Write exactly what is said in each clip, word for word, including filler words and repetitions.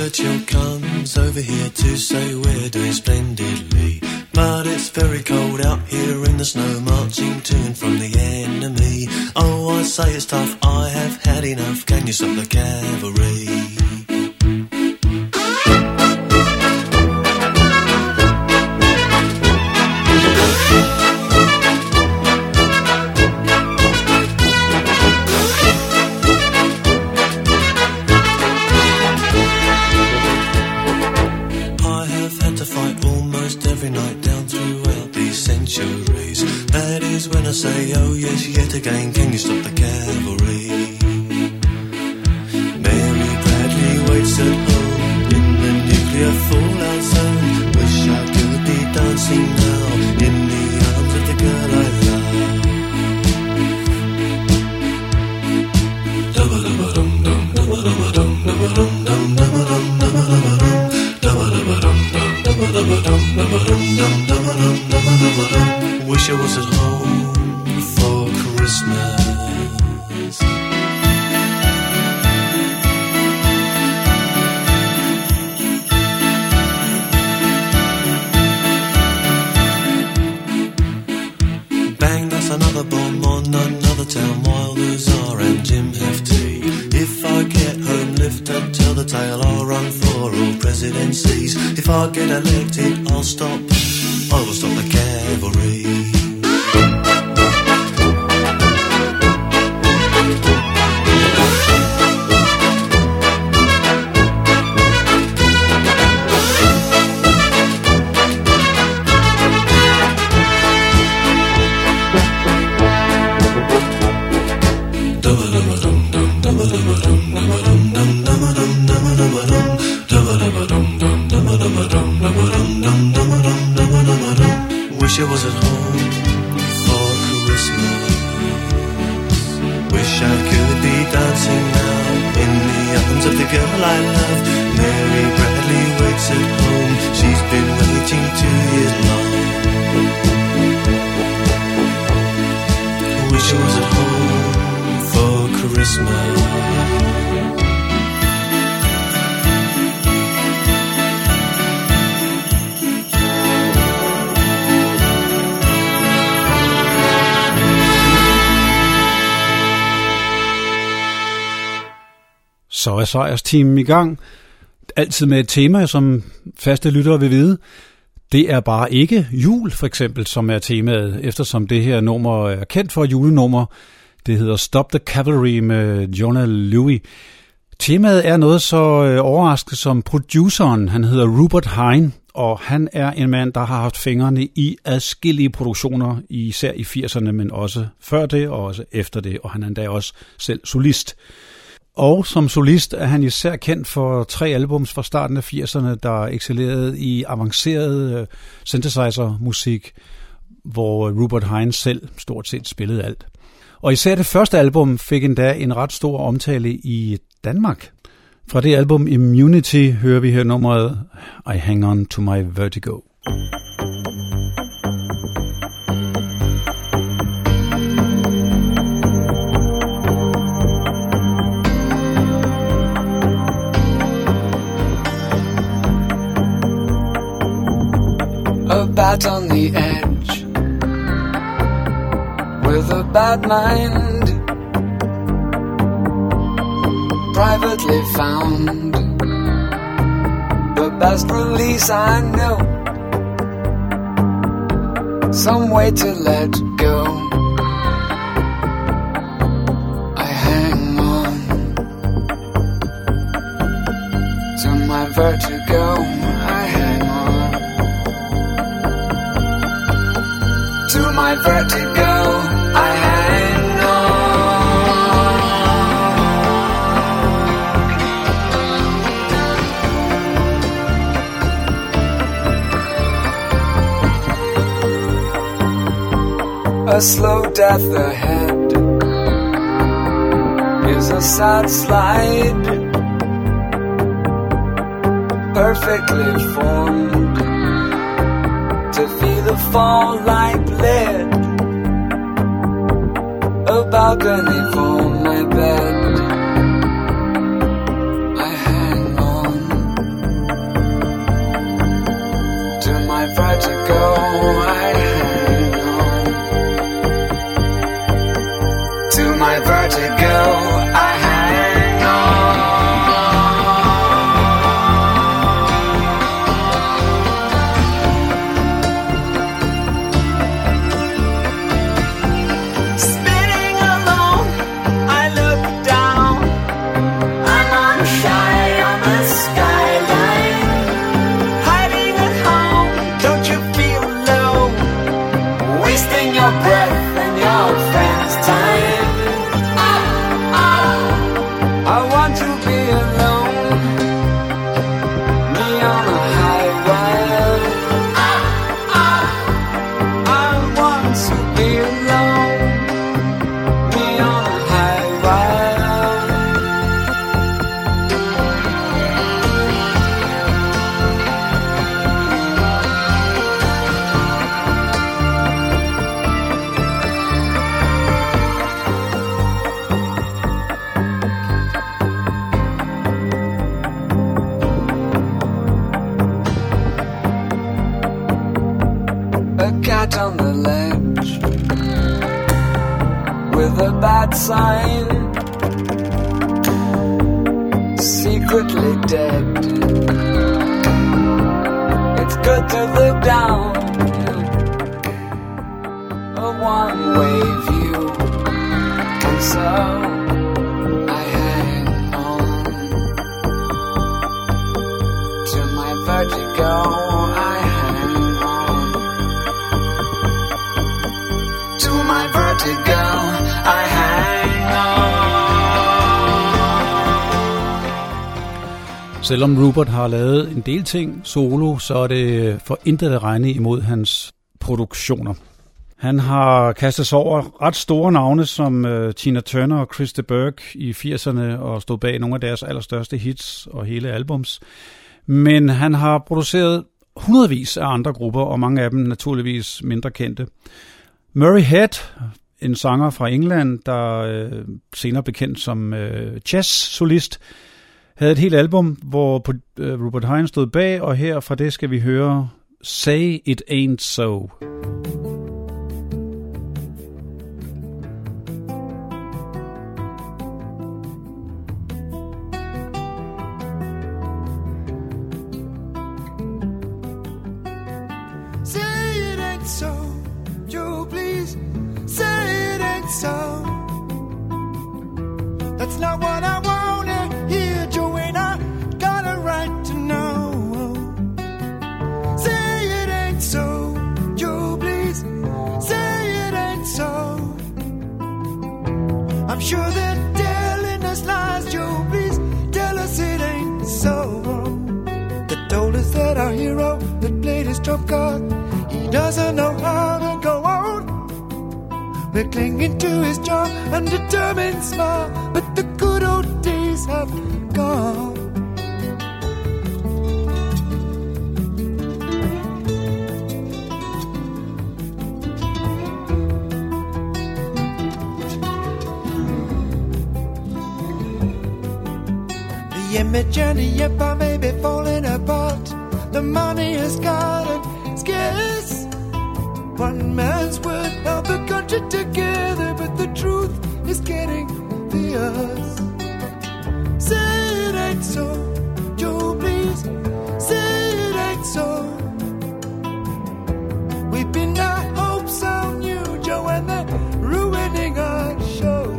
Churchill comes over here to say we're doing splendidly. But it's very cold out here in the snow, marching to and from the enemy. Oh, I say it's tough, I have had enough. Can you stop the cavalry? Say, oh yes, yet again, can you stop the cavalry? Mary Bradley waits at home in the nuclear fallout zone. Wish I could be dancing now in the arms of the girl I love. Wish I was at home for Christmas. Bang, that's another bomb on another town. Wilders are and Jim Hefty. If I get home, lift up, tell the tale. I'll run for all presidencies. If I get elected, I'll stop. I will stop the cavalry. Wish I was at home for Christmas. Wish I could be dancing now in the arms of the girl I love. Mary Bradley waits at home. She's been waiting two years long. Wish I was at home for Christmas. Så er sejrsteamen i gang. Altid med et tema, som faste lyttere vil vide. Det er bare ikke jul, for eksempel, som er temaet, eftersom det her nummer er kendt for julenummer. Det hedder Stop the Cavalry med Jona Lewie. Temaet er noget så overraskende som produceren. Han hedder Rupert Hine, og han er en mand, der har haft fingrene i adskillige produktioner, især i firserne, men også før det og også efter det, og han er endda også selv solist. Og som solist er han især kendt for tre albums fra starten af firserne, der excellerede i avanceret synthesizer-musik, hvor Rupert Hine selv stort set spillede alt. Og især det første album fik endda en ret stor omtale i Danmark. Fra det album Immunity hører vi her nummeret I Hang On To My Vertigo. A bat on the edge with a bad mind, privately found the best release I know, some way to let go. I hang on to my vertigo. I hang on to my vertigo. I hang on. A slow death ahead is a sad slide, perfectly formed to feel the fall like lead. A balcony for my bed. I hang on vertigo, I hang on. To my vertigo, I hang on. Spinning alone, I look down. I'm on shy on the skyline. Hiding at home, don't you feel low? Wasting your breath and your friends' time. I want to be alone. Me on a high wire. I want to be alone. Me on a high wire. A cat on the ledge with a bad sign, secretly dead. It's good to look down a one-way view, and so I hang on to my vertigo. I hang on to my vertigo. I hang on. Selvom Rupert har lavet en del ting solo, så er det for intet at regne imod hans produktioner. Han har kastet sig over ret store navne som uh, Tina Turner og Chris de Burgh i firserne og stod bag nogle af deres allerstørste hits og hele albums. Men han har produceret hundredvis af andre grupper, og mange af dem naturligvis mindre kendte. Murray Head, en sanger fra England, der øh, senere blev kendt som øh, jazz-solist, havde et helt album, hvor øh, Rupert Hines stod bag, og her fra det skal vi høre Say It Ain't So. So, Joe, please say it ain't so. That's not what I wanna hear, Joe, and I got a right to know. Say it ain't so, Joe, please say it ain't so. I'm sure they're telling us lies, Joe, please tell us it ain't so. They told us that our hero that played his trump card, he doesn't know how to go on. We're clinging to his job, undetermined smile, but the good old days have gone. The image and the empire may be falling apart. The money is gone and scarce. One man's word held the country together, but the truth is getting fierce. Say it ain't so, Joe, please. Say it ain't so. We've been our hopes on you, Joe, and they're ruining our show.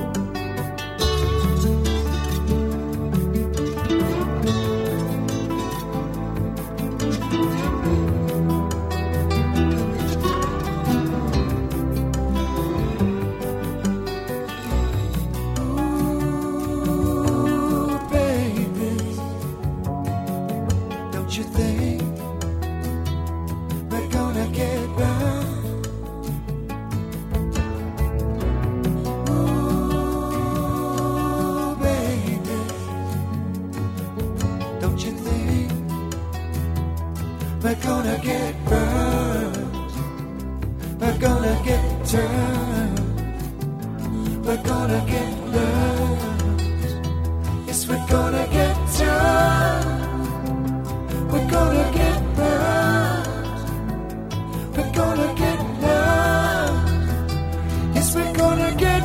We're gonna get burned. We're gonna get turned. We're gonna get learned. Yes, we're gonna get turned. We're gonna get burned. we're gonna get lost. Yes, we're gonna get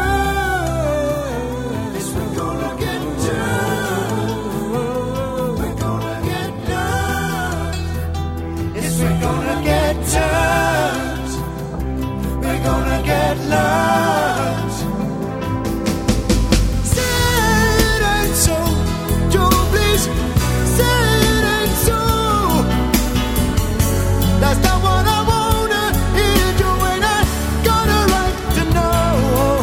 burned. Yes, we're gonna get turned. We're gonna get lost. Yes, we're gonna get turned. We're gonna get lost. Say it ain't so, Joe, please. Say it ain't so. That's not what I wanna hear, Joe, and I got a right to know.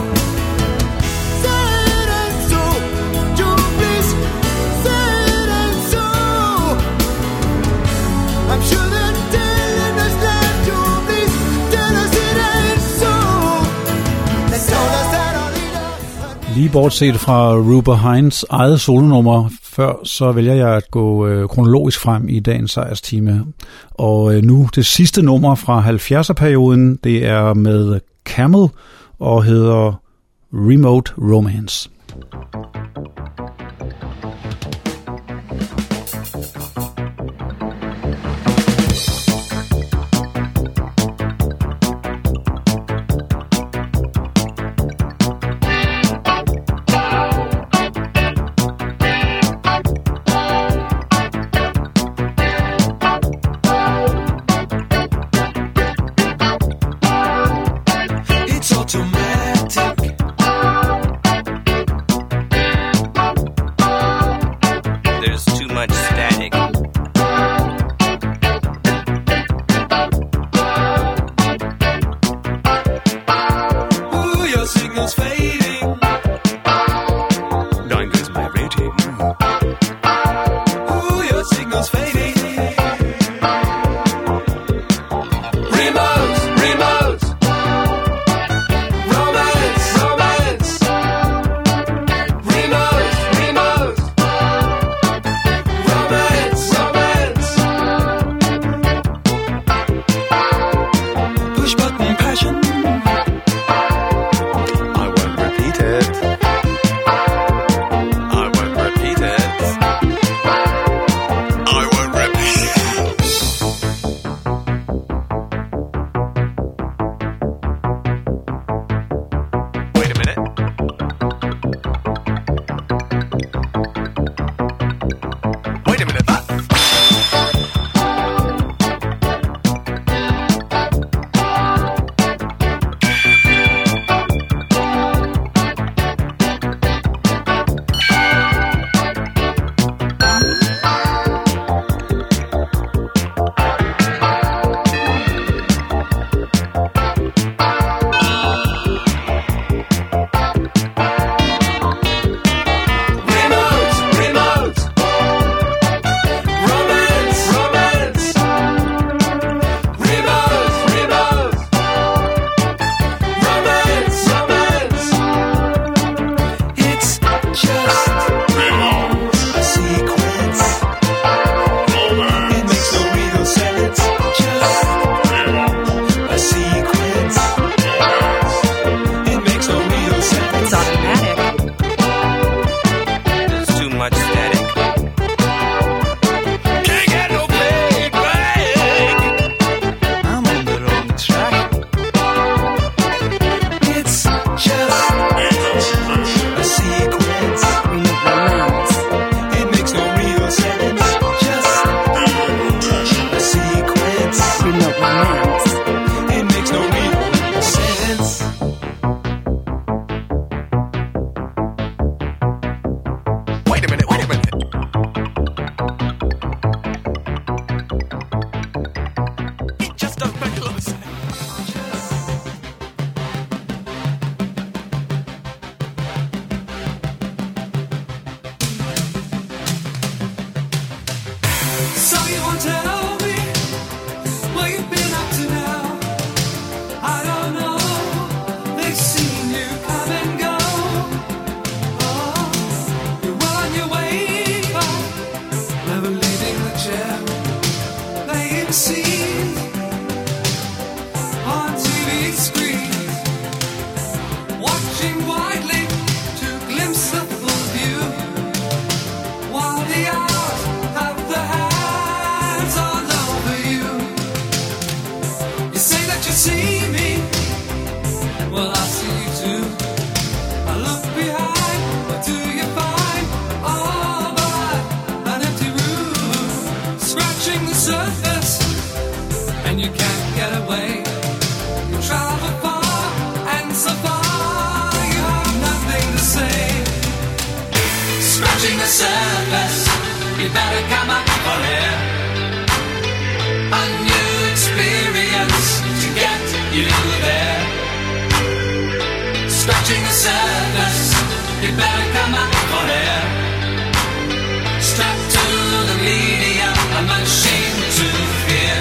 Say it ain't so, Joe, please. Say it ain't so. I'm sure they're telling us that, Joe, please. Tell us it ain't so. They told us that our leader. Lige bortset fra Rupert Hines eget solonummer før, så vælger jeg at gå øh, kronologisk frem i dagens sejrstime. Og øh, nu det sidste nummer fra halvfjerdserperioden, det er med Camel og hedder Remote Romance. It's automatic. see me, well, I see you too. I look behind, what do you find? All but an empty room, scratching the surface, and you can't get away. You travel far, and so far you have nothing to say. Scratching the surface, you better come up for air. A new experience to get you there. Scratching the surface, you better come up for air. Strapped to the medium, a machine to fear.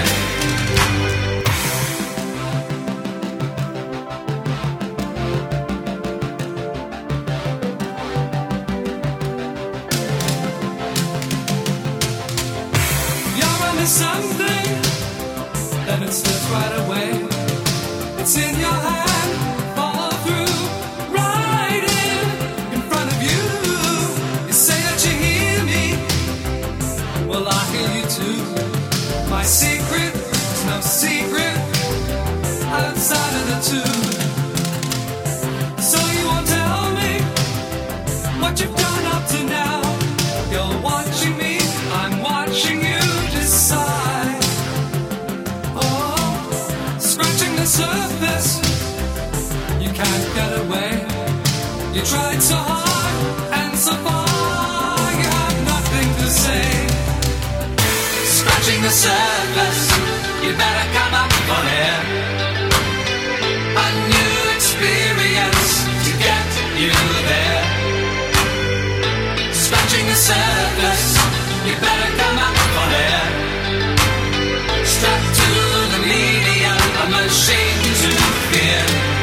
You're only something, then it slips right away. It's in your hand, follow through, right in, in front of you. You say that you hear me, well, I hear you too. My secret is no secret outside of the two. So you won't tell me what you've done up to now. You're watching me, I'm watching you decide. Oh, scratching the surface, you can't get away. You tried so hard and so far, you have nothing to say. Scratching the surface, you better come up for air. A new experience to get you there. Scratching the surface, you better come up for air. Strapped to the medium, a machine to fear.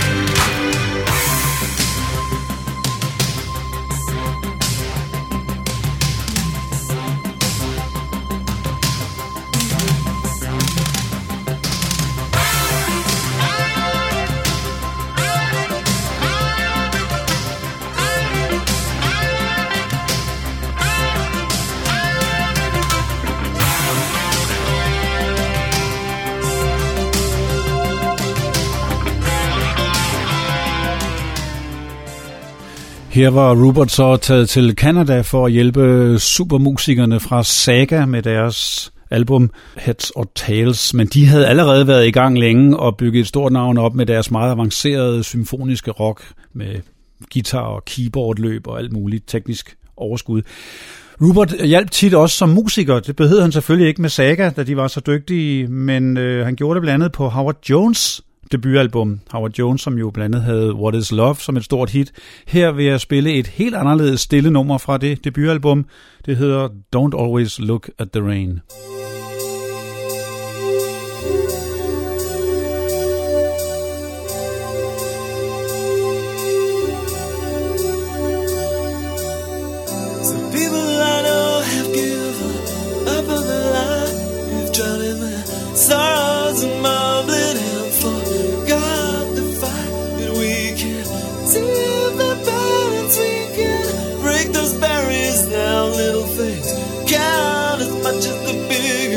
Her var Rupert så taget til Canada for at hjælpe supermusikerne fra Saga med deres album Heads or Tails, men de havde allerede været i gang længe og bygget et stort navn op med deres meget avancerede symfoniske rock med guitar og keyboardløb og alt muligt teknisk overskud. Rupert hjalp tit også som musiker. Det behøvede han selvfølgelig ikke med Saga, da de var så dygtige, men øh, han gjorde det blandt andet på Howard Jones' debutalbum. Howard Jones, som jo blandt andet havde What Is Love som et stort hit. Her vil jeg spille et helt anderledes stille nummer fra det debutalbum. Det hedder Don't Always Look at the Rain. Some people I know have given up on the line. You've drowned in their sorrows and mumbling and forgot the fight. But we can see the balance. We can break those barriers down. Little things count as much as the big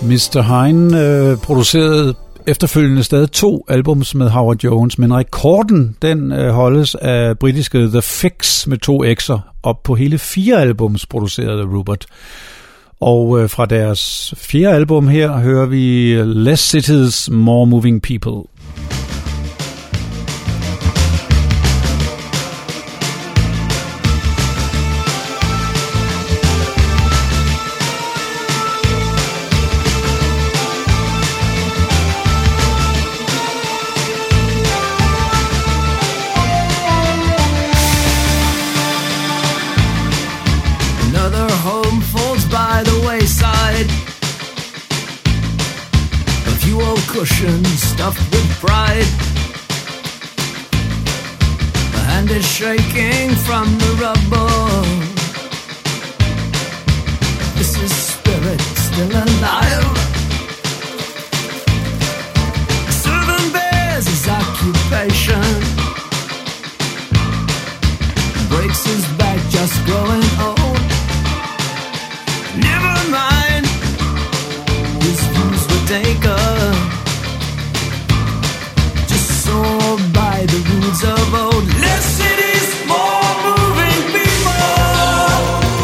mister Hein øh, producerede efterfølgende stadig to albums med Howard Jones, men rekorden den øh, holdes af britiske The Fix med to X'er op på hele fire albums produceret af Rupert. Og øh, fra deres fjerde album her hører vi Less Cities, More Moving People. Cushion stuffed with pride. The hand is shaking from the rubble. This is spirit still alive. Serving bears his occupation. Breaks his back just growing old. Never mind, his views were taken. By the rules of old. Less cities, more moving people,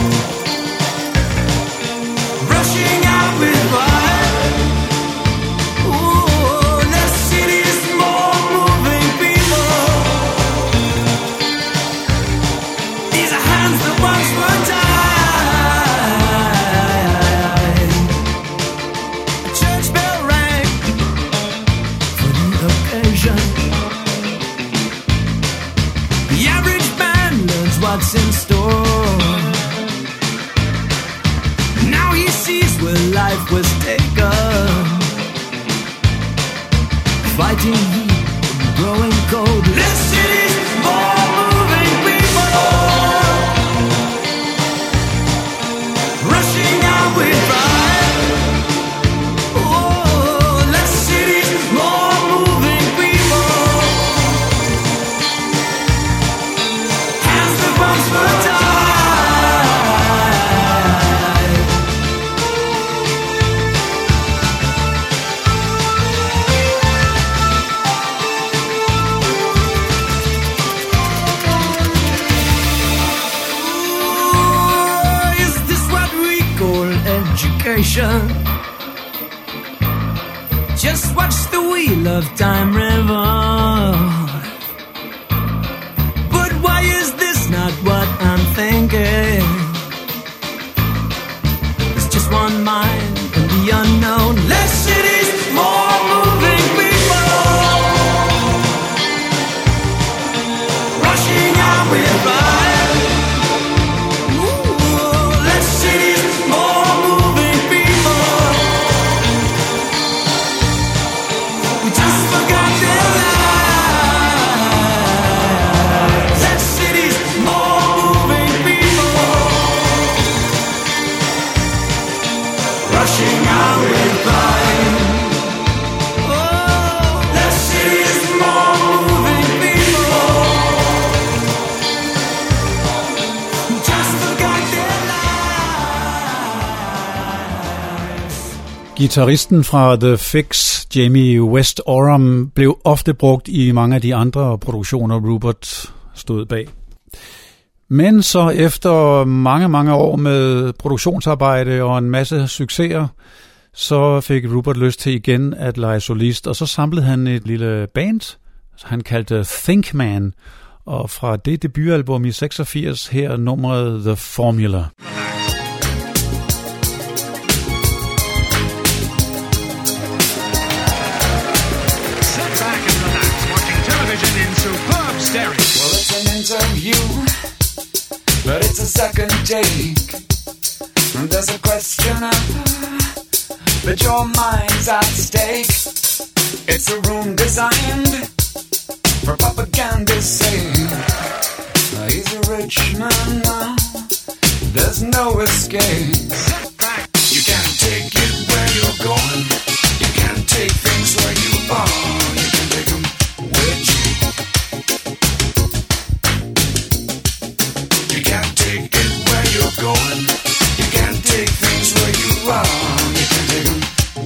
rushing out with fire. Ooh, less cities, more moving people. These are hands that once were tied. A church bell rang for the occasion. What's in store? Now he sees where life was taken. Fighting heat, growing cold. Less cities, more moving people, rushing out with pride. Oh, less cities, more moving people. Once were tied. Ooh, is this what we call education? Just watch the wheel of time revolve. But why is this not what I'm thinking? It's just one mind in the unknown. Less cities, more moving people, rushing out with fire. Ooh, less cities, more moving people. We just forgot their lives. Less cities, more moving people, rushing out with fire. Oh, less cities, more moving people. We just forgot their lives. Gitarristen fra The Fix, Jamie West Oram, blev ofte brugt i mange af de andre produktioner, Rupert stod bag. Men så efter mange, mange år med produktionsarbejde og en masse succeser, så fik Rupert lyst til igen at lege solist, og så samlede han et lille band, han kaldte Think Man, og fra det debutalbum i seksogfirs her nummeret The Formula. Well, it's an interview, but it's a second take. And there's a questioner, but your mind's at stake. It's a room designed for propaganda's sake. He's a rich man now, there's no escape. You can't take it where you're going, you can't take things where you are, you can take them with you. You can't take it where you're going, you can't take things where you are, you can take them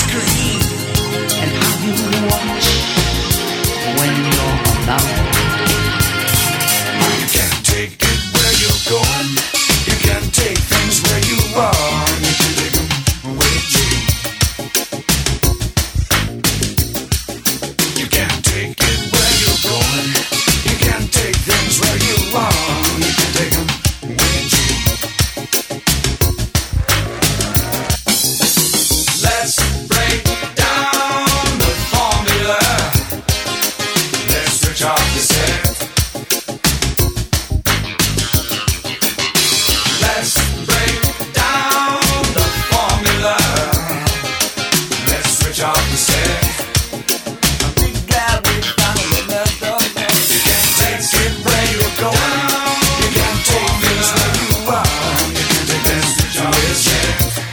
screen and how you watch when you're alone. You can't take it where you're going. You can't take things where you are. You can take them with you. You can't take it where you're going. You can't take things where you are. You can take them with you. Let's break down the formula. Let's switch off the set. Let's break down the formula. Let's switch off the set. I'm glad we finally met the man. You can't take it where you're going. You can't take things where you are. You can take that switch off the set.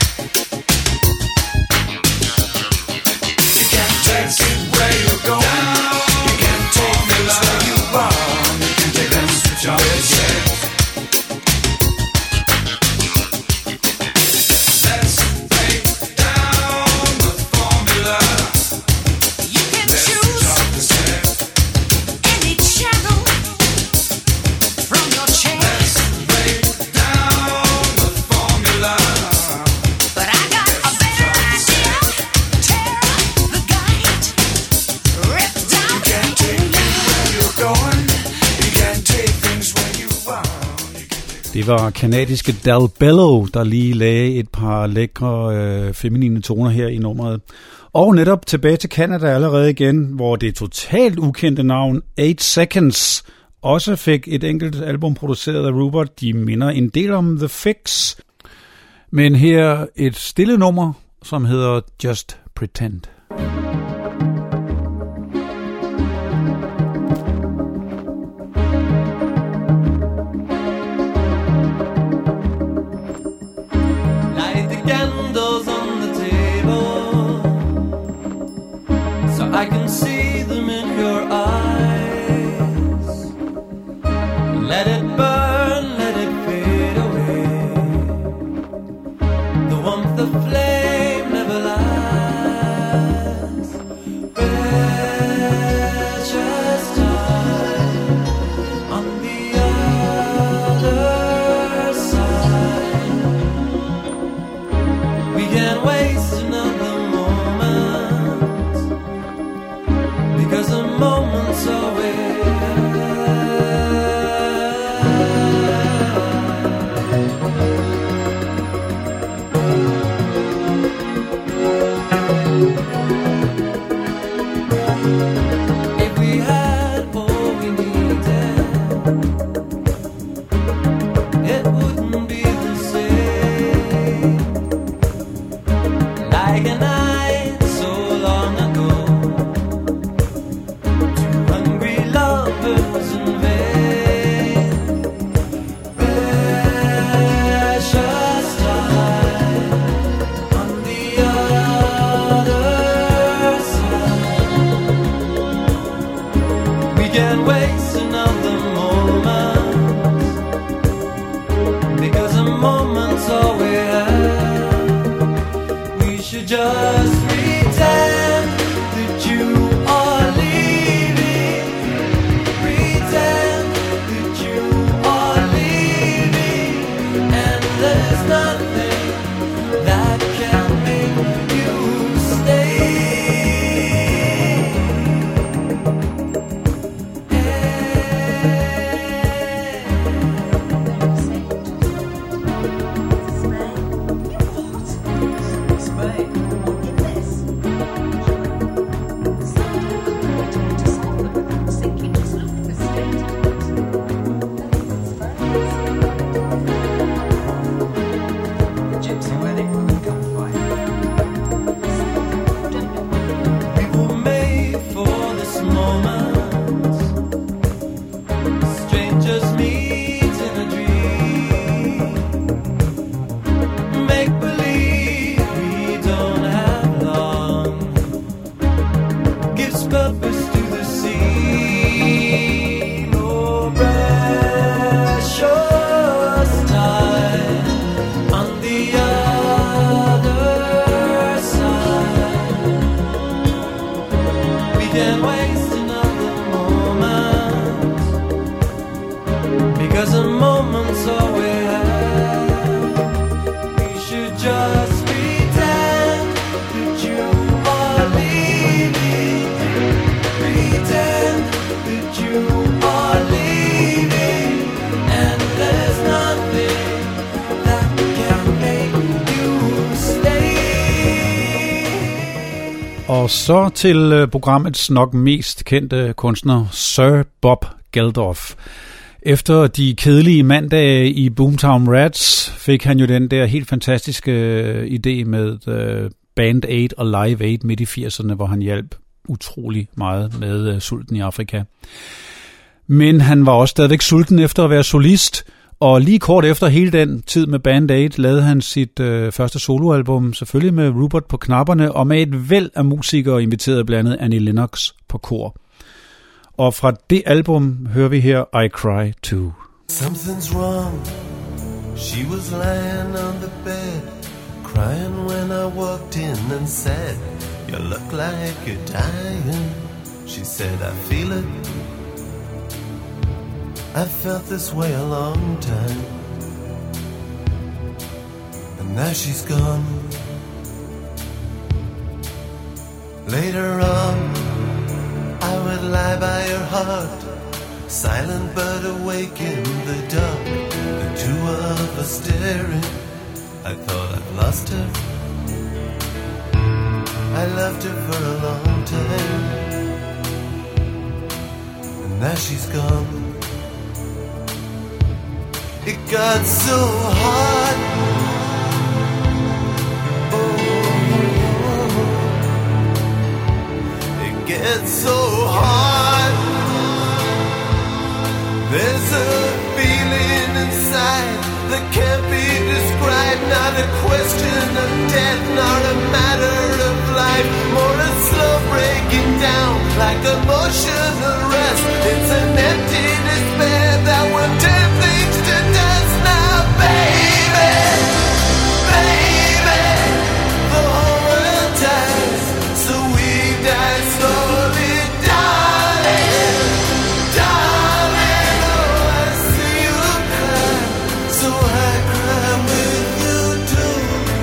You can't take it where you're going. You can't take things where you are. You can take that switch off the set. Let's break down the formula. You can Let's switch choose off the set. any channel from your chance, Break down the formula. but I got a better idea. Tear up the guide, rip down the Can't take it where you're going. You can't take things where you are. Det var kanadiske Del Bello, der lige lagde et par lækre øh, feminine toner her i nummeret. Og netop tilbage til Canada allerede igen, hvor det totalt ukendte navn eight seconds også fik et enkelt album produceret af Rupert. De minder en del om The Fix. Men her et stille nummer, som hedder Just Pretend. Light the candles on the table so I can see them in your eyes. Let it burn, let it fade away. The warmth of flame never lasts. Precious time on the other side. We can't waste another moment because a moment's always. If we had all we needed, it wouldn't be the same. Like a night so long ago, two hungry lovers in vain. Precious time on the other side. We can't waste another moment because a moment's all we have. We should just pretend that you are leaving. Pretend that you are leaving, and there's nothing that can make you stay. moments all we have. We should just pretend that you are leaving. Pretend that you are leaving, and there's nothing that can make you stay. Og så til øh, programmets nok mest kendte kunstner, Sir Bob Geldof. Efter de kedelige mandage i Boomtown Rats fik han jo den der helt fantastiske øh, idé med øh, Band Aid og Live Aid midt i firserne, hvor han hjalp utrolig meget med øh, sulten i Afrika. Men han var også stadigvæk sulten efter at være solist, og lige kort efter hele den tid med Band Aid lavede han sit øh, første soloalbum, selvfølgelig med Rupert på knapperne, og med et væld af musikere inviteret blandt andet Annie Lennox på kor. Og fra det album hører vi her I Cry Too. Something's wrong. She was lying on the bed, crying when I walked in and said, "You look like you're dying." She said, "I feel it. I've felt this way a long time." And now she's gone. Later on, I would lie by her heart, silent but awake in the dark, the two of us staring. I thought I'd lost her. I loved her for a long time, and now she's gone. It got so hard. Oh, it gets so hard. There's a feeling inside that can't be described. Not a question of death, not a matter of life. More a slow breaking down, like a motion arrest. It's an empty despair that will turn things to dust now, baby. Baby, the whole world dies, so we die slowly, darling. Darling, oh, I see you cry, so I cry with you too.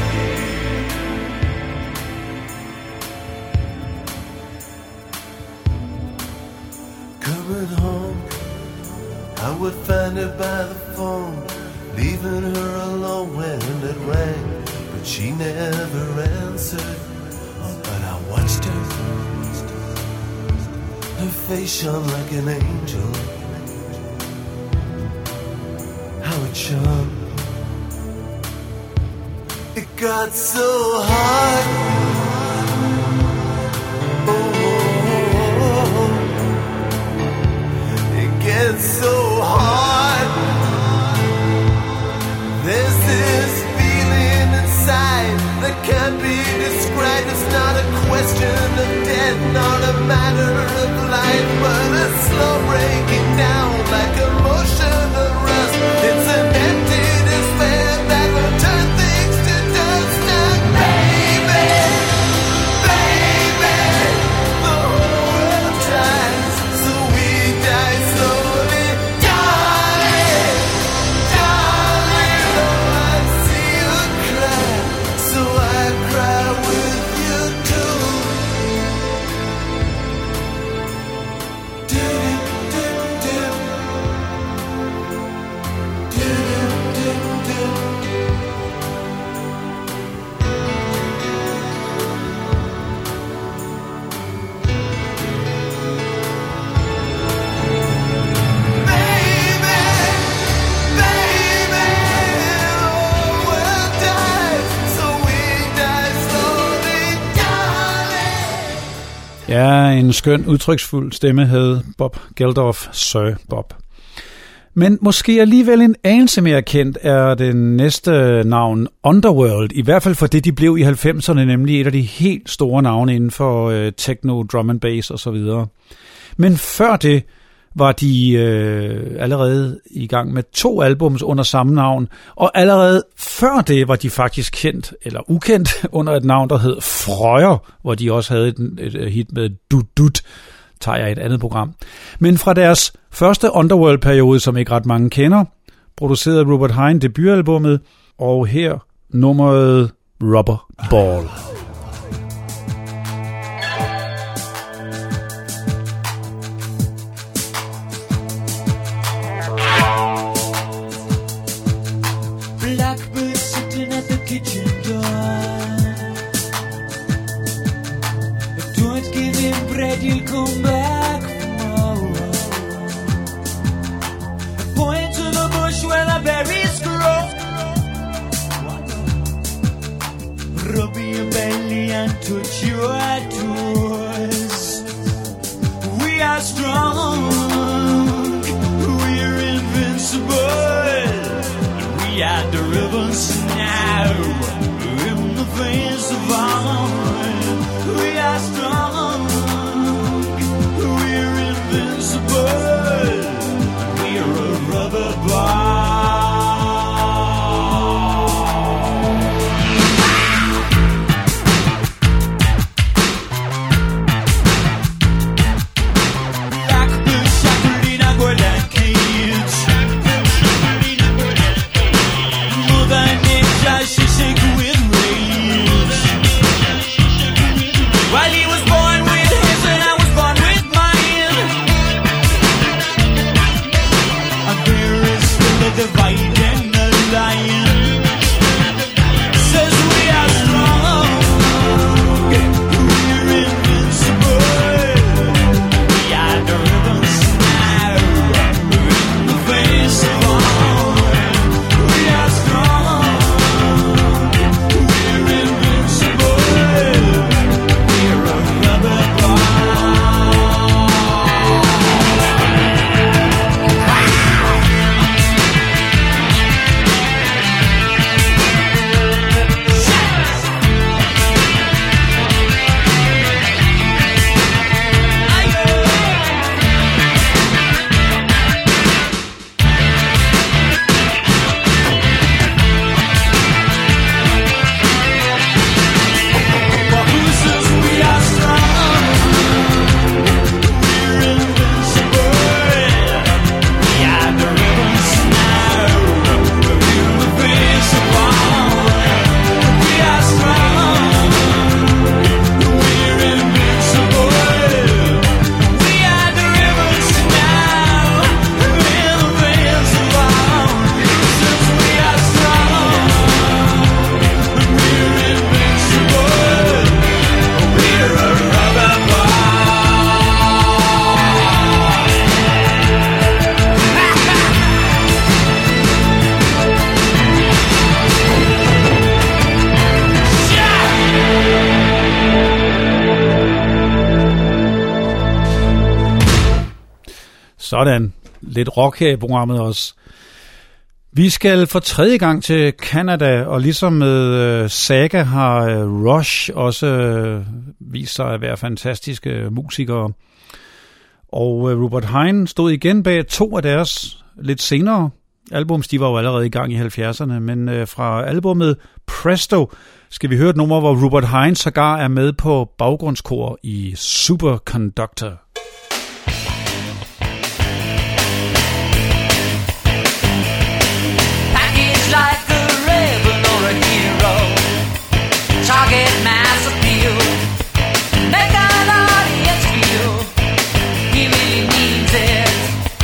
Coming home, I would find her by the phone, leaving her alone when it rang, but she never answered. Oh, but I watched her. Her face shone like an angel. How it shone. It got so hard. Oh, it gets so hard. There's this feeling inside that can't be described. It's not a question of death, not a matter of life, but a slow breaking down like a motion of rust. It's an empty despair that will turn things to dust now, baby. Baby, the whole world dies, so we die slowly, darling. Darling, oh, I see you cry, so I cry with you too. Do-do-do-do. Do-do-do-do. Baby, baby, the whole world dies, so we die slowly, darling. Ja, en skøn, udtryksfuld stemme havde Bob Geldof, Sir Bob. Men måske alligevel en anelse mere kendt er det næste navn Underworld, i hvert fald for det, de blev i halvfemserne, nemlig et af de helt store navne inden for øh, techno, drum and bass osv. Men før det var de øh, allerede i gang med to albums under samme navn, og allerede før det var de faktisk kendt, eller ukendt, under et navn, der hed Frøyer, hvor de også havde et, et hit med Dut Dut, tager jeg et andet program. Men fra deres første Underworld-periode, som ikke ret mange kender, producerede Robert Hine debutalbummet, og her nummeret Rubber Ball. Blackbird sitting at the kitchen door. Don't give him bread, he'll come back tomorrow. Point to the bush where the berries grow. Rub your belly and touch your toes. We are strong, we're invincible. We are the rebels now, in the face of all. We are strong, we're invincible. We're a rubber ball. Blackbird shackled in a golden cage. Mother Nature, she shake with rage. While he was born with his and I was born with mine. And there is still a divide and a line. Says we are strong, we're invincible. We are the rebels now, in the face of all. We are strong, we're invincible. We're a rubber ball. But who says we are strong? We're invincible. We are the rebels now. We're in the face of all. We are strong. We're invincible. We are the rebels now. We're in the face of all. Since we are strong, we're invincible. We're a rubber ball. Sådan. Lidt rock her i programmet også. Vi skal for tredje gang til Canada, og ligesom med øh, Saga har øh, Rush også øh, vist sig at være fantastiske musikere. Og øh, Robert Hine stod igen bag to af deres lidt senere albums. De var jo allerede i gang i halvfjerdserne, men øh, fra albummet Presto skal vi høre et nummer, hvor Robert Hine sågar er med på baggrundskor i Superconductor. Package like a rebel or a hero. Target mass appeal. Make an audience feel he really means it.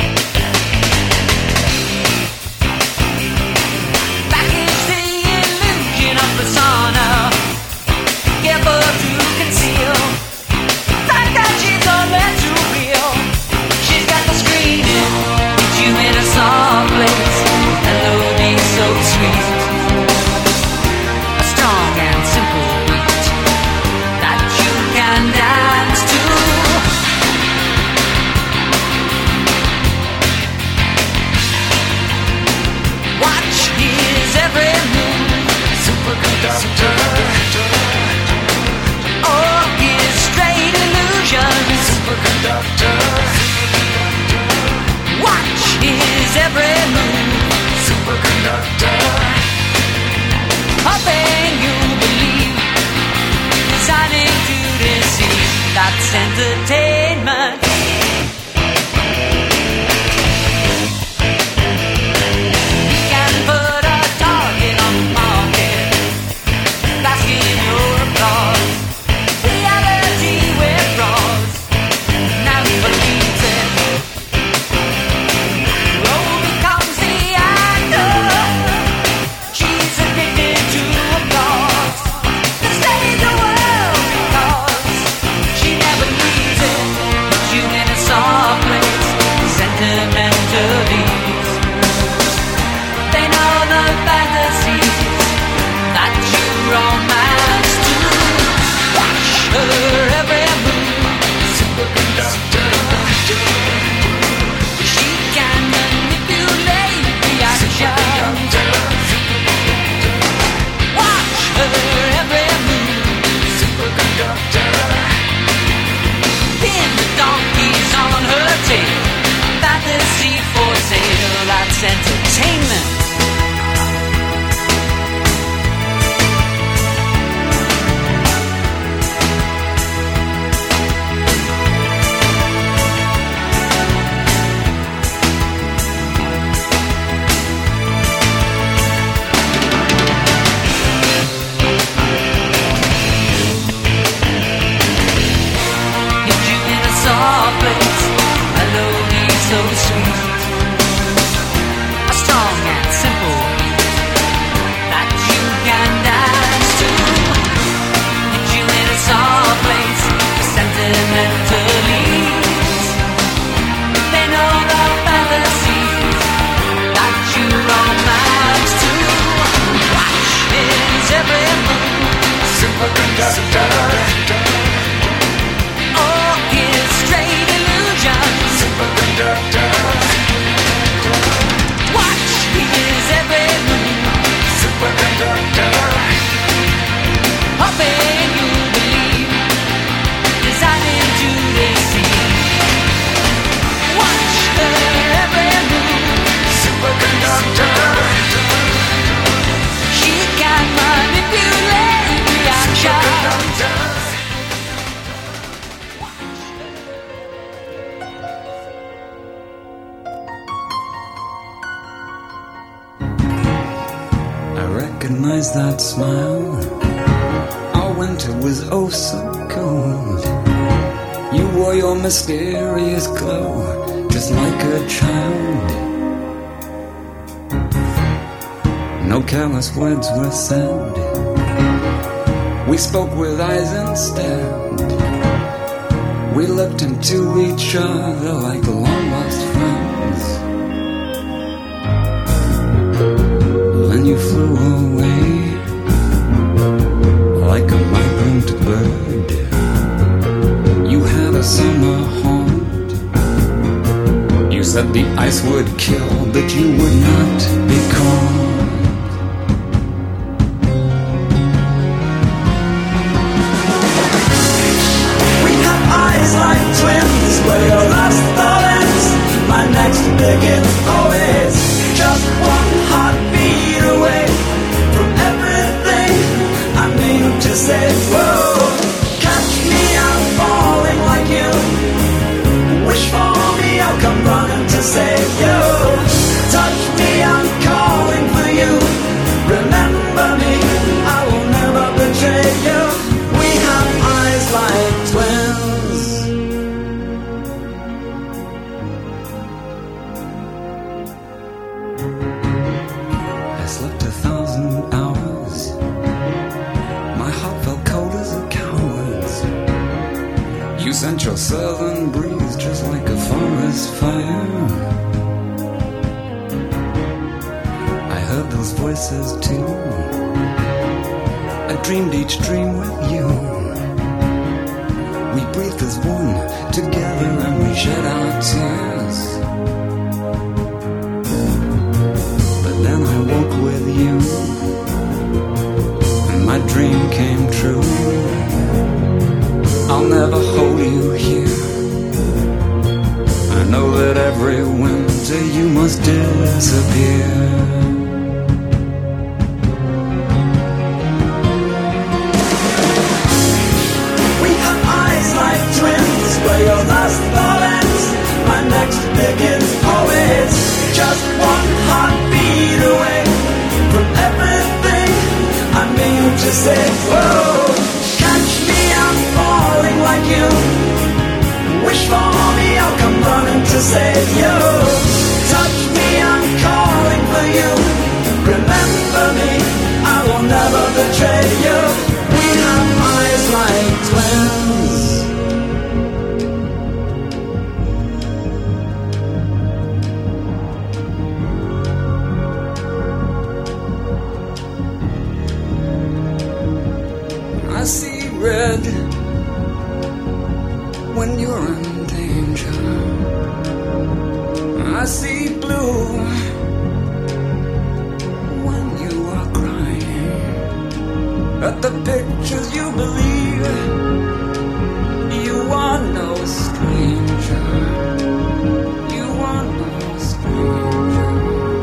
Package the illusion of persona. Careful to conceal. Fact that she's already Orchestrate illusions. Watch his every move. Hoping you believe, designing to deceive. Watch her every move. She can manipulate reactions. I recognize that smile. Our winter was oh so cold. You wore your mysterious glow, just like a child. No careless words were said. We spoke with eyes instead. We looked into each other like long lost friends. Then you flew away like a migrant bird. You had a summer haunt. You said the ice would kill, but you would not be caught. We have eyes like twins, where your last thought ends. My next begin always just one heartbeat away from everything I mean to say. Whoa, catch me, I'm falling like you. Wish for me, I'll come running to save you. Touch me, I'm calling for you. Remember me, I will never betray you. We have eyes like twins. I slept a thousand hours. My heart felt cold as a coward's. You sent your southern breeze just like a forest fire. I heard those voices too. I dreamed each dream with you. We breathed as one together and we shed our tears. But then I woke with you and my dream came true. I'll never hold you here. I know that every winter you must disappear. We have eyes like twins, where your last thought ends. My next begins always just one heartbeat away from everything I mean to say. Whoa, catch me, I'm falling like you. Wish for me, I'll come running to save you. Touch me, I'm calling for you. Remember me, I will never betray you. We have eyes like twins. I see red when you're in danger. I see blue when you are crying. At the pictures you believe, you are no stranger. You are no stranger.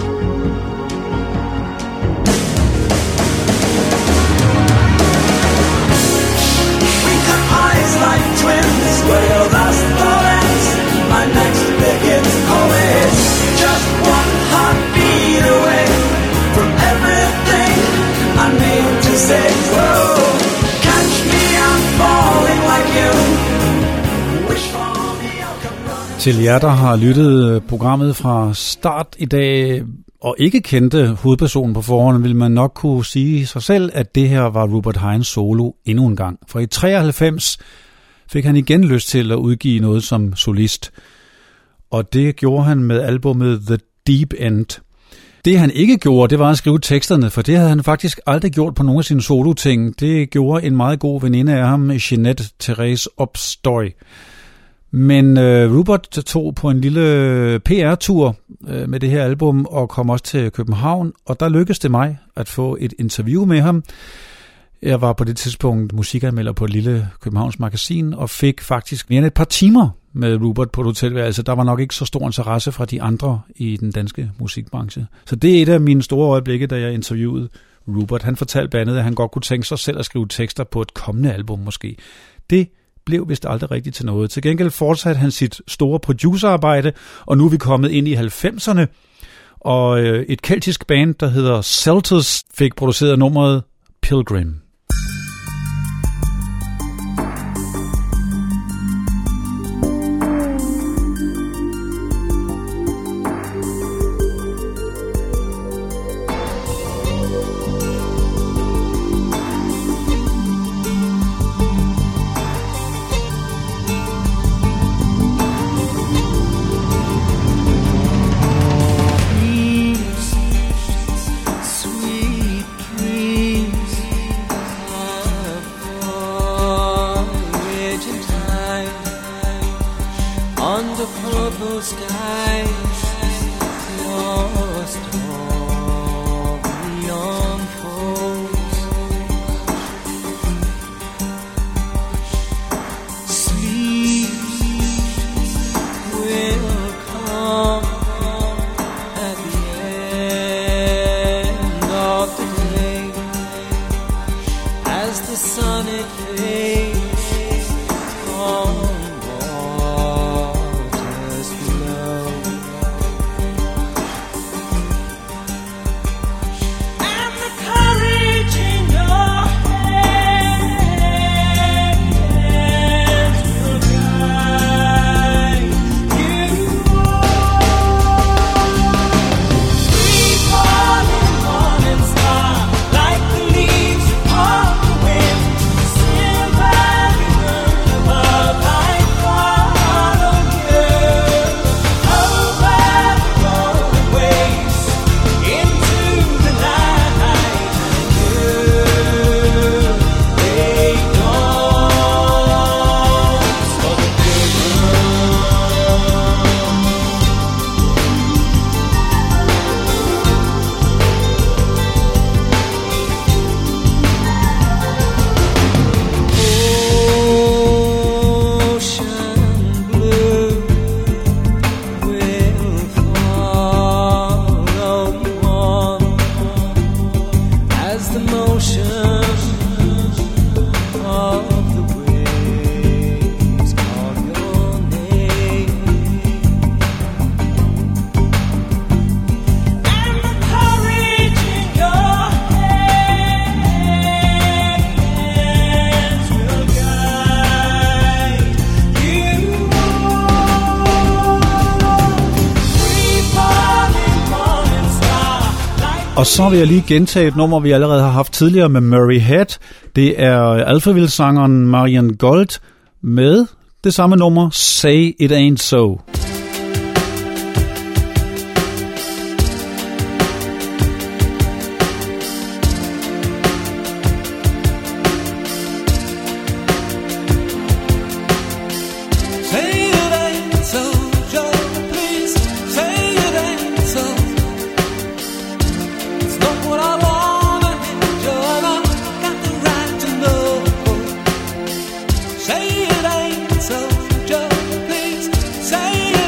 We have eyes like twins, where your last thought ends. My next begins always just one heartbeat away from everything I mean to say. Whoa, catch me, I'm falling like you. Wish for me, I'll come running. Til jer, der har lyttet programmet fra start i dag, og ikke kendte hovedpersonen på forhånd, vil man nok kunne sige sig selv, at det her var Rupert Hines solo endnu en gang. For i treoghalvfems fik han igen lyst til at udgive noget som solist, og det gjorde han med albumet The Deep End. Det han ikke gjorde, det var at skrive teksterne, for det havde han faktisk aldrig gjort på nogle af sine solo-ting. Det gjorde en meget god veninde af ham, Jeanette Therese Opstoy. Men øh, Rupert tog på en lille P R-tur øh, med det her album og kom også til København, og der lykkedes det mig at få et interview med ham. Jeg var på det tidspunkt musikanmelder på et lille Københavns magasin og fik faktisk mere end et par timer med Rupert på et hotelværelse. Der var nok ikke så stor interesse fra de andre i den danske musikbranche. Så det er et af mine store øjeblikke, da jeg interviewede Rupert. Han fortalte blandt andet, at han godt kunne tænke sig selv at skrive tekster på et kommende album måske. Det blev vist aldrig rigtigt til noget. Til gengæld fortsatte han sit store producerarbejde, og nu er vi kommet ind i halvfemserne, og et keltisk band, der hedder Celtus, fik produceret nummeret Pilgrim. Og så vil jeg lige gentage et nummer, vi allerede har haft tidligere med Murray Head. Det er Alphaville-sangeren Marian Gold med det samme nummer, Say It Ain't So. Say it ain't so, Joe, please say it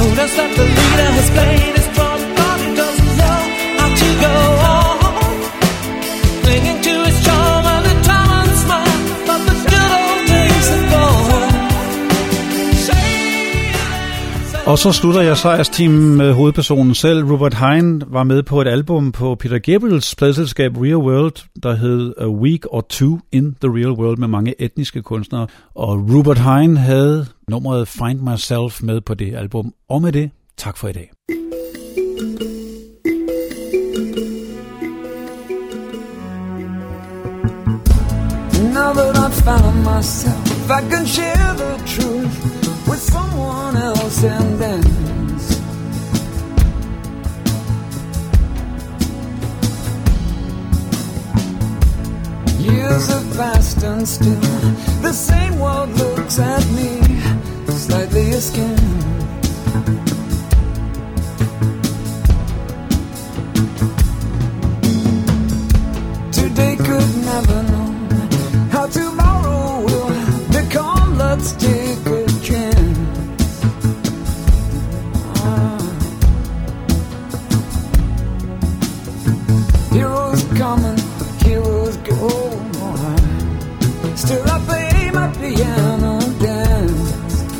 told us that the leader has played his part, but he doesn't know how to go on. Clinging to his charm and the time and smile, but the good old days are gone. Og så slutter jeg sejrsteamen med hovedpersonen selv. Rupert Hine var med på et album på Peter Gabriels pladeselskab Real World, der hed A Week or Two in the Real World, med mange etniske kunstnere. Og Rupert Hine havde nummeret Find Myself med på det album. Og med det, tak for i dag. Now that I've found myself, I can share the truth with someone else and dance. Years have passed and still the same world looks at me, slightly askance. Today could never know how tomorrow will become. Let's take a chance. Ah. Heroes come and heroes go. Still I play my piano and dance.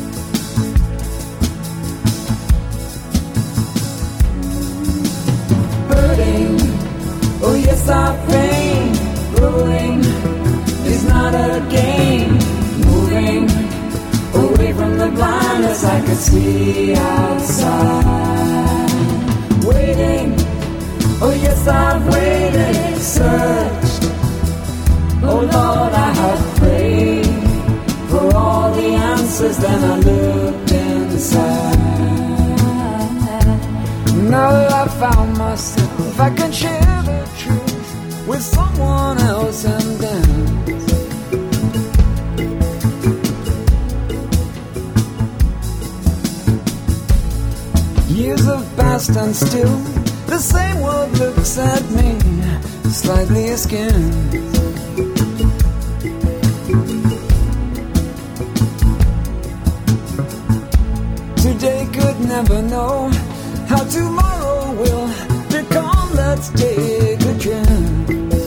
Hurting, oh yes I faint. Growing is not a game. Moving away from the blindness I could see outside. Waiting, oh yes I've waited, searched. Oh Lord, I have prayed for all the answers, then I looked inside. Now that I found myself, I can share the truth with someone else and dance. Years have passed and still the same world looks at me, slightly askance. Today could never know how tomorrow will become. Let's take a chance.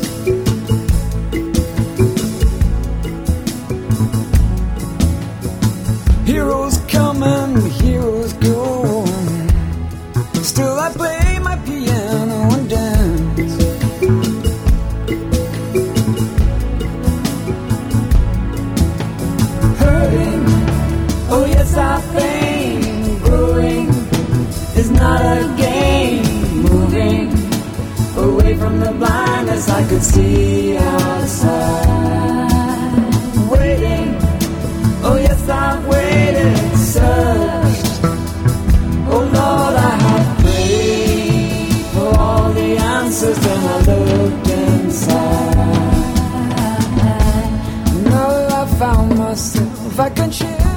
Heroes come and heroes go. Still I play my piano and dance. Hurting, oh yes I faint. Growing is not a game. Moving away from the blindness I could see outside. Waiting, oh yes I've waited, searched. Oh Lord, I have prayed for all the answers, then I looked inside. Now that I found myself, I can share